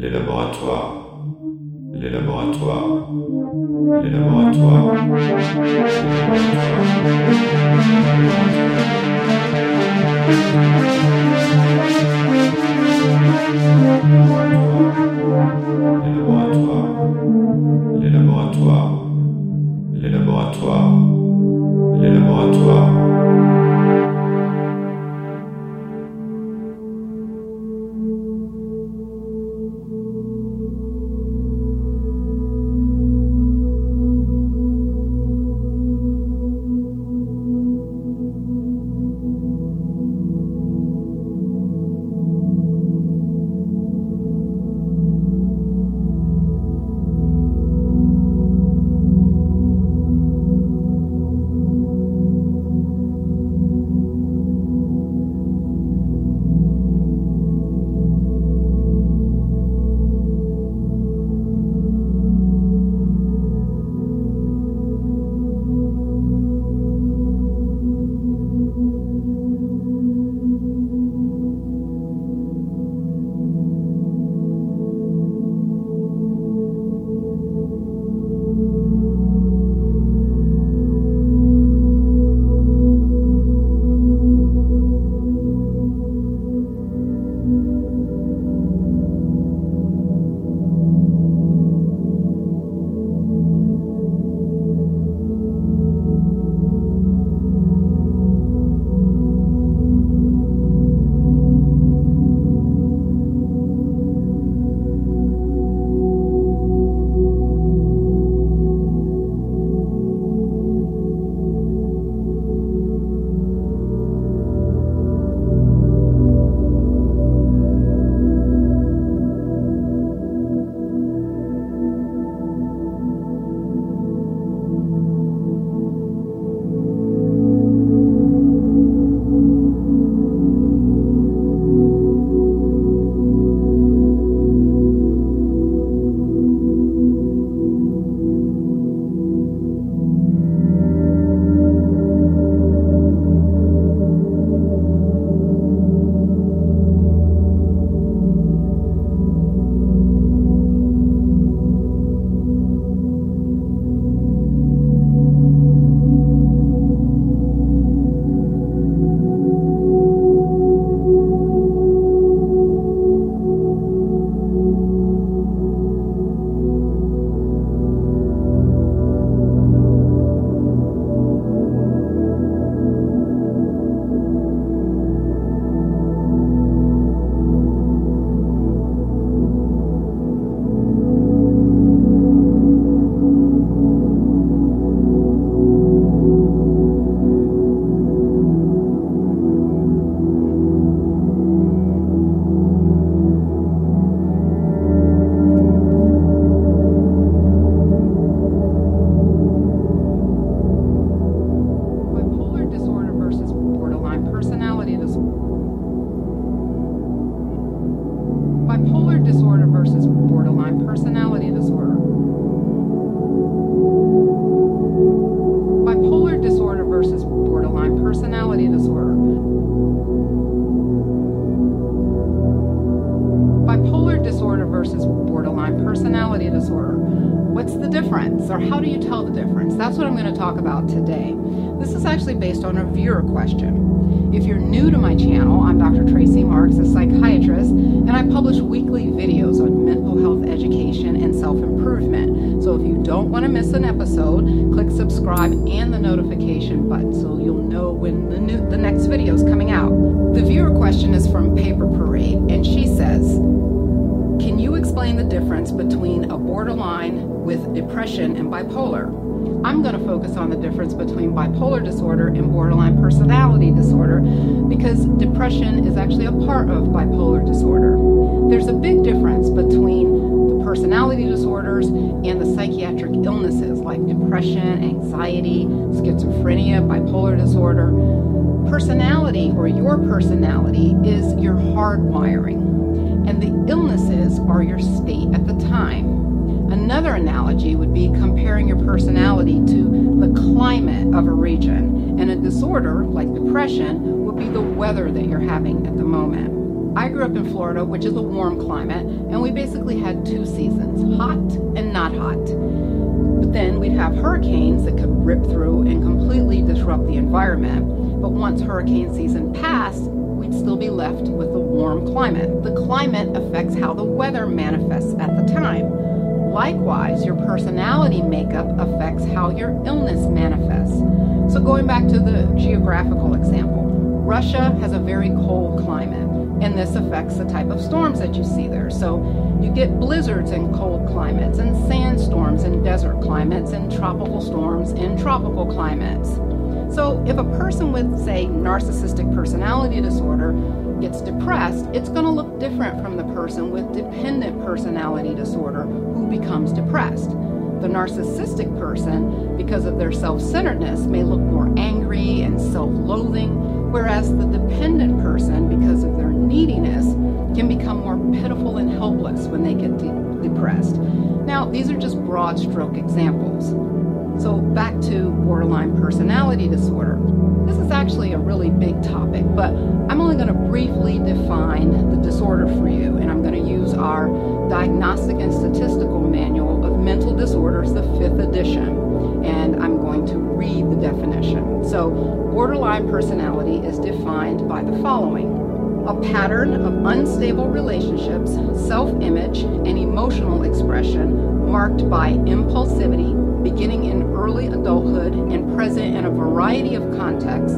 les laboratoires, les laboratoires, les laboratoires, les laboratoires, les laboratoires, les laboratoires. Bipolar disorder versus borderline personality disorder. Bipolar disorder versus borderline personality disorder. Bipolar disorder versus borderline personality disorder. What's the difference, or how do you tell the difference? That's what I'm going to talk about today. This is actually based on a viewer question. If you're new to my channel, I'm Dr. Tracy Marks, a psychiatrist, and I publish weekly videos on mental health education and self-improvement. So if you don't want to miss an episode, click subscribe and the notification button so you'll know when the next video is coming out. The viewer question is from Paper Parade, and she says, can you explain the difference between a borderline with depression and bipolar? I'm going to focus on the difference between bipolar disorder and borderline personality disorder because depression is actually a part of bipolar disorder. There's a big difference between the personality disorders and the psychiatric illnesses like depression, anxiety, schizophrenia, bipolar disorder. Personality, or your personality, is your hardwiring, and the illnesses are your state at the time. Another analogy would be comparing your personality to the climate of a region, and a disorder like depression would be the weather that you're having at the moment. I grew up in Florida, which is a warm climate, and we basically had 2 seasons, hot and not hot. But then we'd have hurricanes that could rip through and completely disrupt the environment. But once hurricane season passed, we'd still be left with a warm climate. The climate affects how the weather manifests at the time. Likewise, your personality makeup affects how your illness manifests. So going back to the geographical example, Russia has a very cold climate, and this affects the type of storms that you see there. So you get blizzards in cold climates, and sandstorms in desert climates, and tropical storms in tropical climates. So if a person with, say, narcissistic personality disorder gets depressed, it's going to look different from the person with dependent personality disorder who becomes depressed. The narcissistic person, because of their self-centeredness, may look more angry and self-loathing, whereas the dependent person, because of their neediness, can become more pitiful and helpless when they get depressed. Now, these are just broad stroke examples. So back to borderline personality disorder. This is actually a really big topic, but I'm only going to briefly define the disorder for you, and I'm going to use our Diagnostic and Statistical Manual of Mental Disorders, the 5th edition, and I'm going to read the definition. So borderline personality is defined by the following: a pattern of unstable relationships, self-image, and emotional expression marked by impulsivity, beginning in early adulthood and present in a variety of contexts,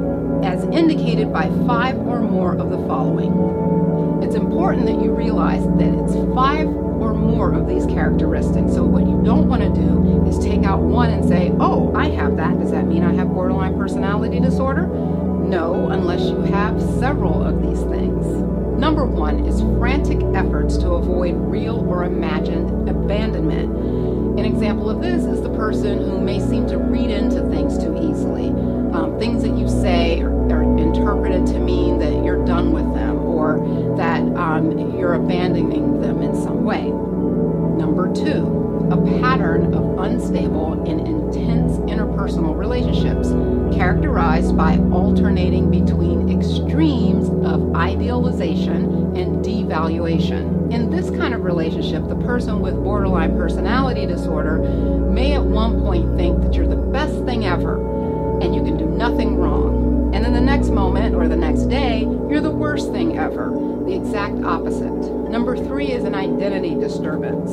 as indicated by 5 or more of the following. It's important that you realize that it's 5 or more of these characteristics. So what you don't want to do is take out one and say, oh, I have that. Does that mean I have borderline personality disorder? No, unless you have several of these things. Number 1 is frantic efforts to avoid real or imagined abandonment. An example of this is the person who may seem to read into things too easily. Things that you say are interpreted to mean that you're done with them, or that you're abandoning them in some way. Number 2, a pattern of unstable and intense interpersonal relationships, characterized by alternating between extremes of idealization and devaluation. In this kind of relationship, the person with borderline personality disorder may at one point think that you're the best thing ever and you can do nothing wrong. And then the next moment or the next day, you're the worst thing ever, the exact opposite. Number 3 is an identity disturbance.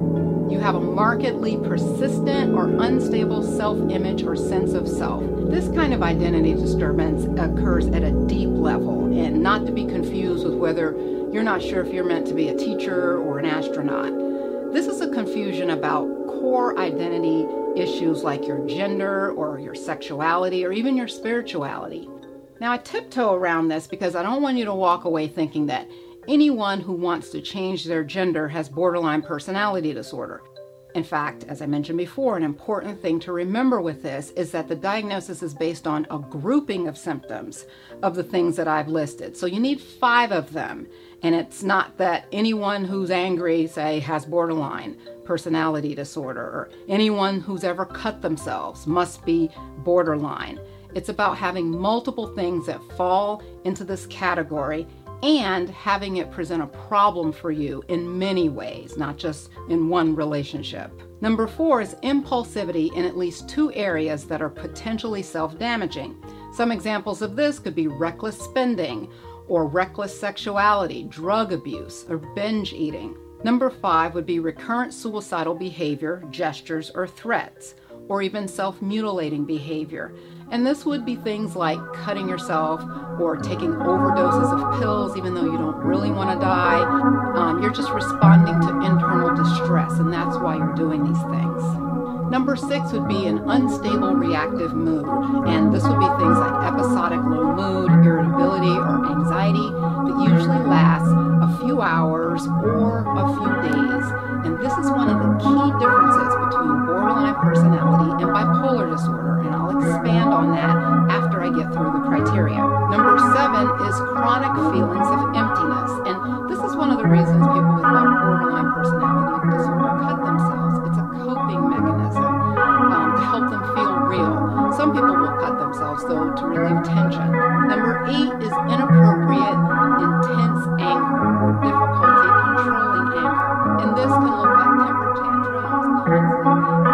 You have a markedly persistent or unstable self-image or sense of self. This kind of identity disturbance occurs at a deep level, and not to be confused with whether you're not sure if you're meant to be a teacher or an astronaut. This is a confusion about core identity issues like your gender or your sexuality or even your spirituality. Now, I tiptoe around this because I don't want you to walk away thinking that anyone who wants to change their gender has borderline personality disorder. In fact, as I mentioned before, an important thing to remember with this is that the diagnosis is based on a grouping of symptoms of the things that I've listed. So you need 5 of them. And it's not that anyone who's angry, say, has borderline personality disorder, or anyone who's ever cut themselves must be borderline. It's about having multiple things that fall into this category and having it present a problem for you in many ways, not just in one relationship. Number 4 is impulsivity in at least 2 areas that are potentially self-damaging. Some examples of this could be reckless spending, or reckless sexuality, drug abuse, or binge eating. Number 5 would be recurrent suicidal behavior, gestures, or threats, or even self-mutilating behavior. And this would be things like cutting yourself or taking overdoses of pills even though you don't really want to die. You're just responding to internal distress, and that's why you're doing these things. Number 6 would be an unstable reactive mood, and this would be things like episodic low mood, irritability, or anxiety that usually lasts a few hours or a few days. And this is one of the key differences between borderline personality and bipolar disorder, and I'll expand on that after I get through the criteria. Number 7 is chronic feelings of emptiness, and this is one of the reasons people with borderline personality disorder cut themselves. It's a coping mechanism to help them feel real. Some people will cut themselves, though, to relieve tension. Number 8 is inappropriate, intense anger or difficulty controlling anger. And this can look like temper tantrums, constant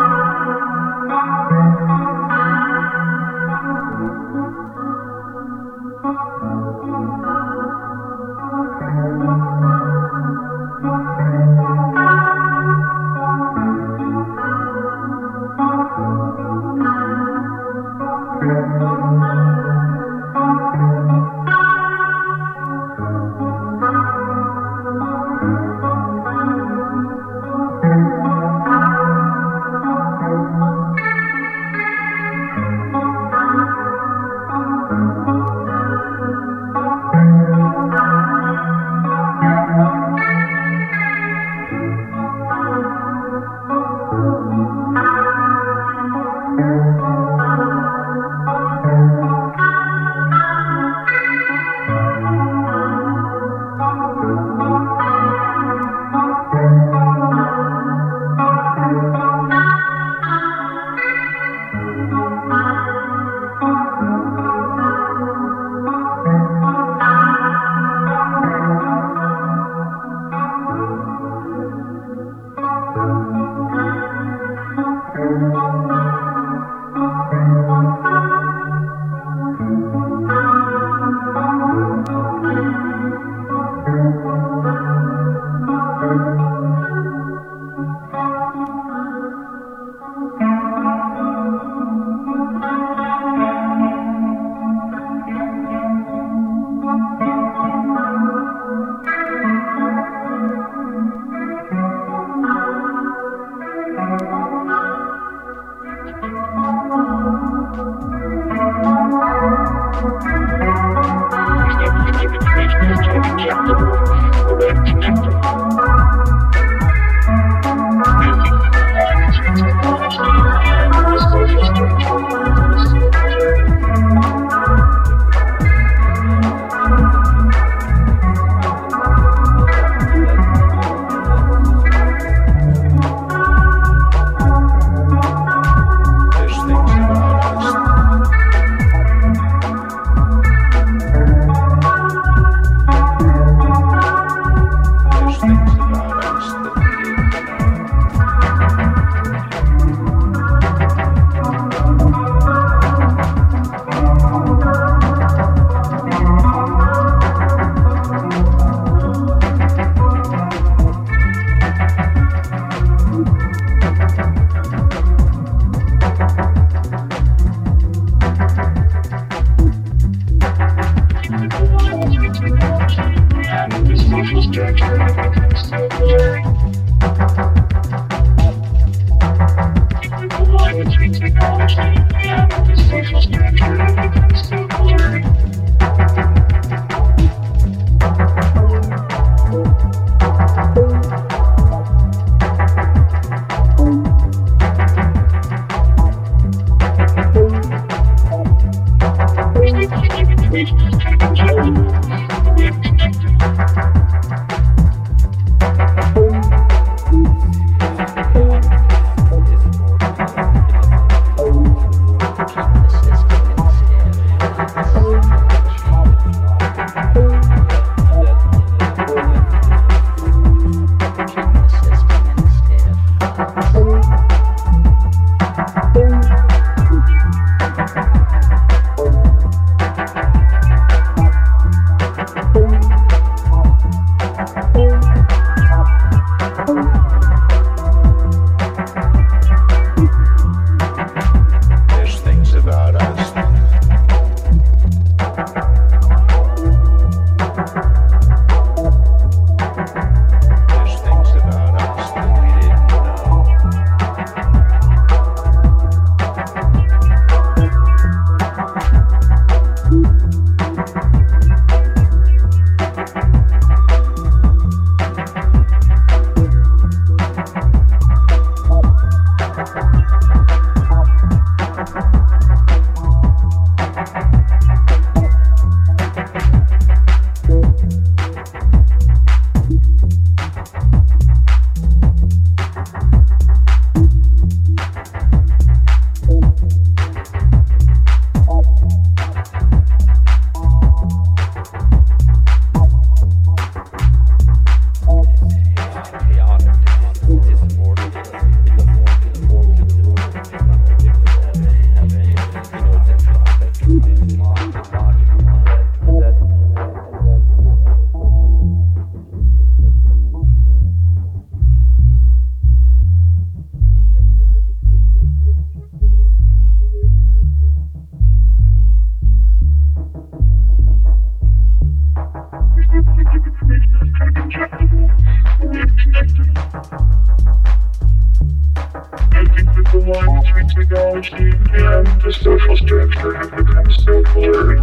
technology and the social structure have become so blurry.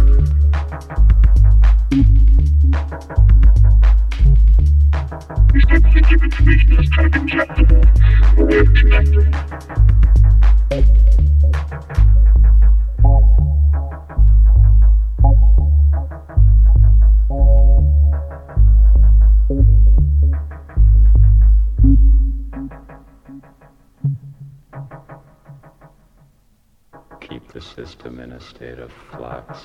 Instead, think of information as kind of injectable, a way of connecting. Keep the system in a state of flux.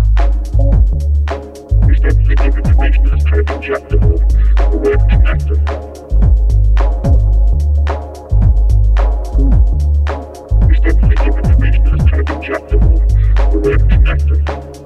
Instead, think of information as kind of injectable, a way of connecting. Instead, think of information as kind of injectable, a way of connecting.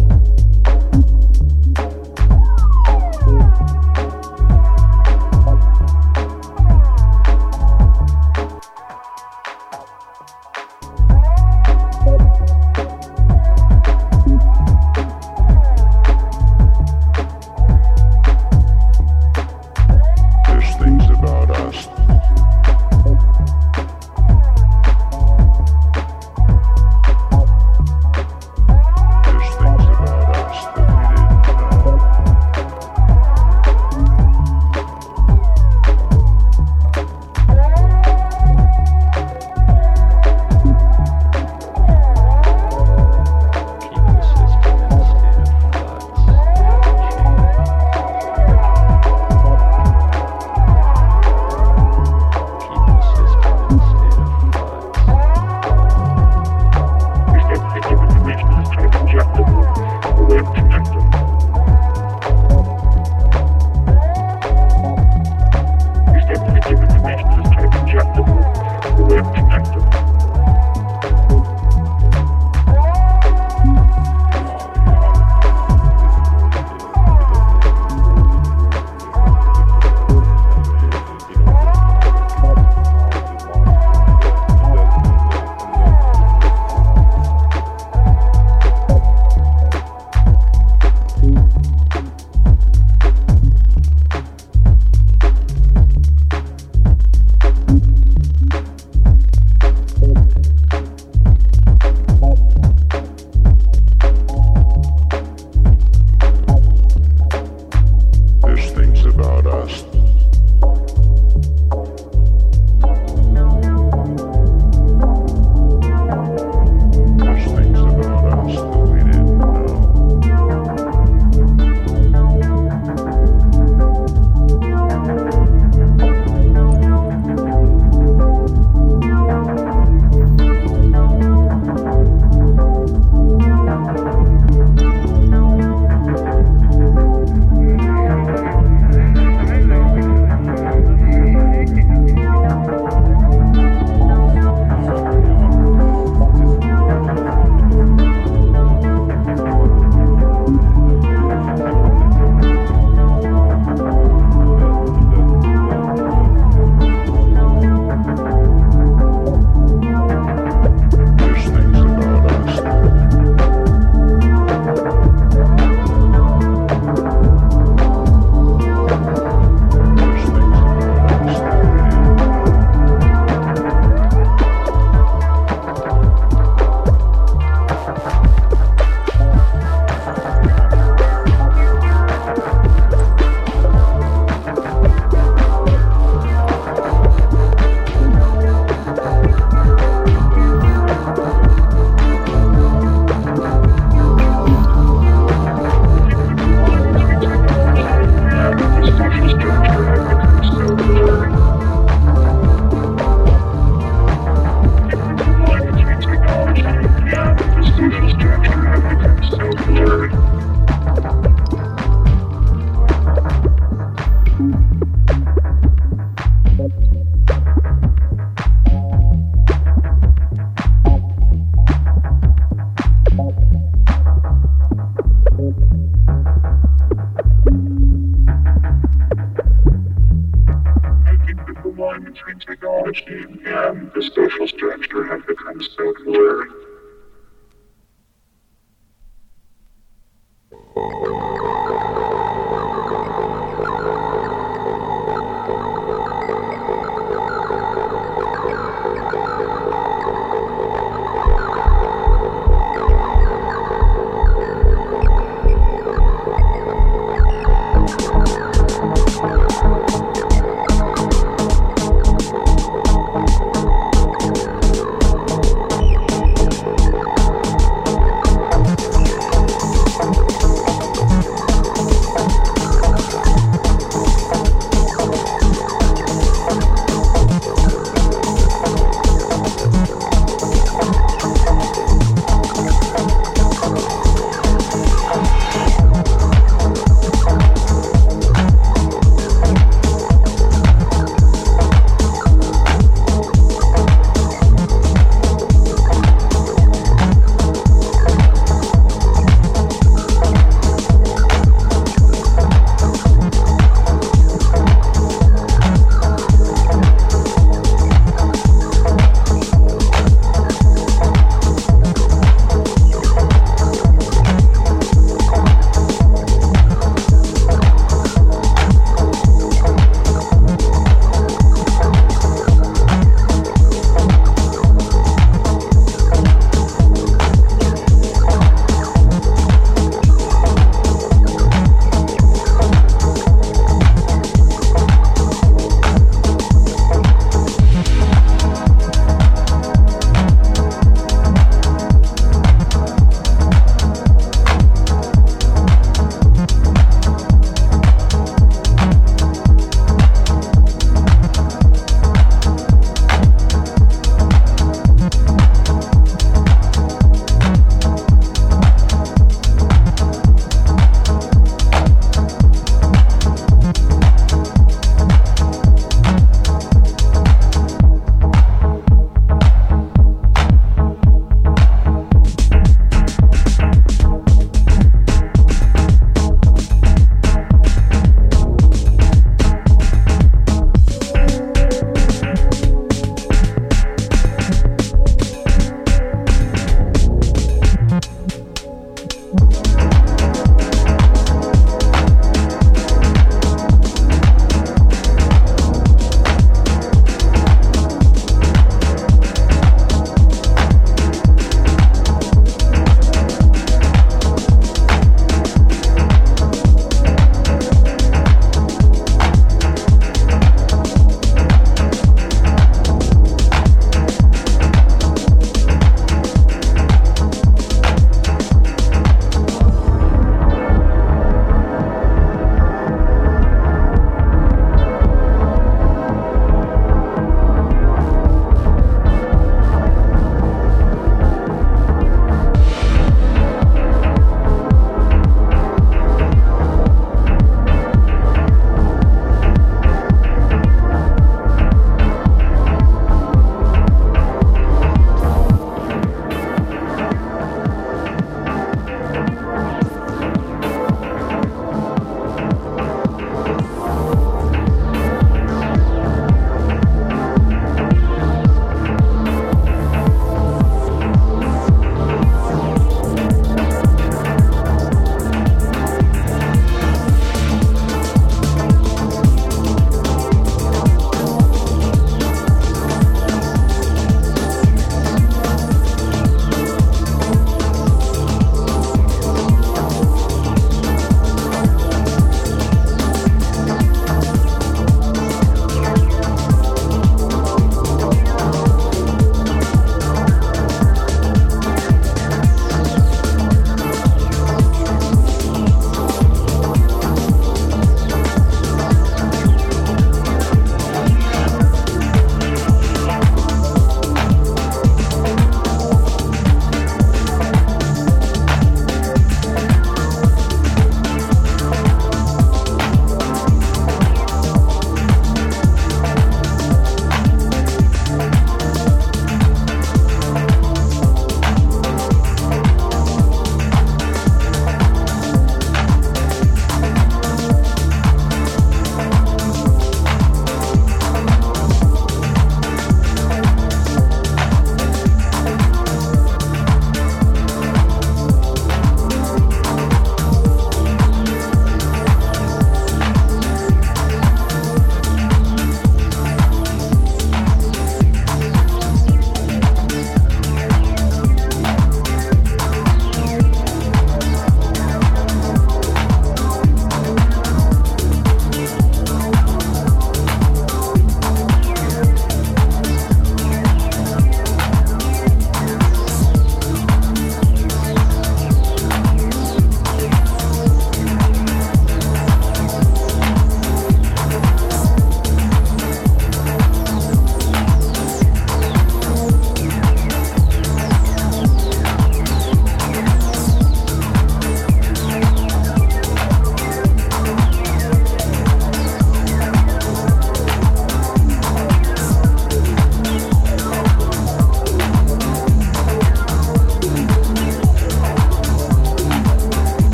between technology and the social structure have become so blurry.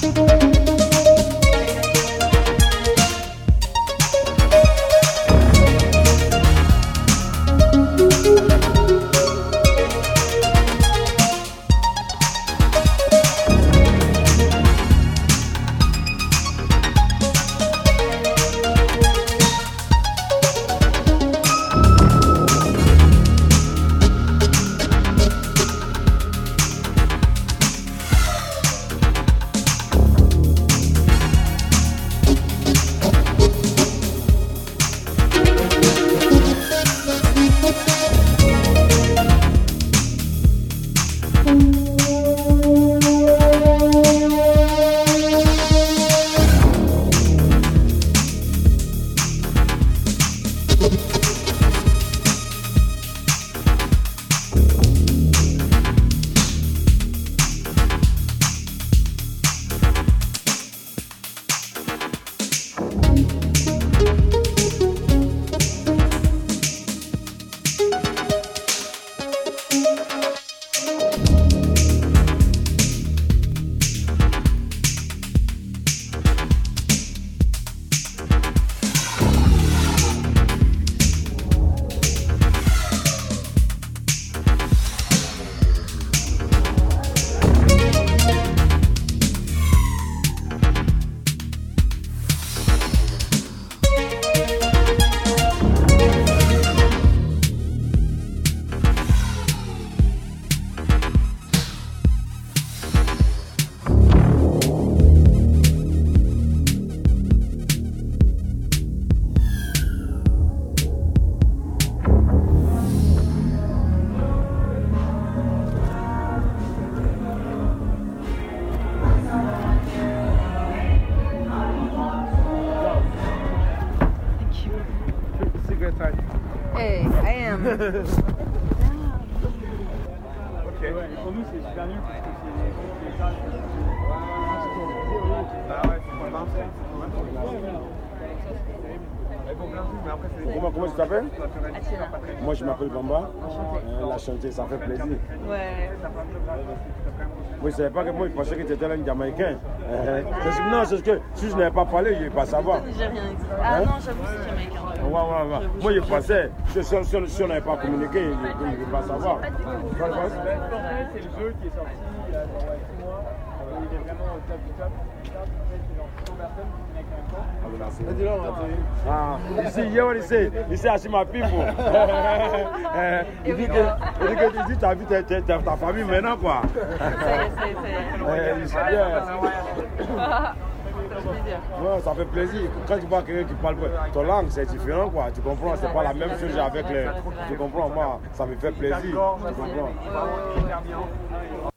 Hey, I am. Ok. Pour nous, c'est super nul parce que c'est ça. Ah ouais, c'est pas Comment tu t'appelles? Moi je m'appelle Bamba. La chanteuse, ça fait plaisir. Ouais. Moi je savais pas que moi je pensais que tu étais là un Jamaïcain. Non, c'est que si je n'avais pas parlé, je ne vais pas savoir. J'ai rien dit. Ah non, j'avoue, c'est Jamaïcain. Ouais. Moi je pensais, si on n'avait pas communiqué, je ne vais pas savoir. C'est le jeu qui est sorti il y a 6 mois. Il est vraiment au top du top. C'est genre 100 personnes qui viennent avec un temps. Ici, à Chimapimbo. Il dit que tu as vu ta famille maintenant, quoi. Ouais, ça fait plaisir. Quand tu vois quelqu'un qui parle ton langue, c'est différent, quoi. Tu comprends, c'est pas la même chose avec les. Tu comprends, moi, ça me fait plaisir. Tu comprends.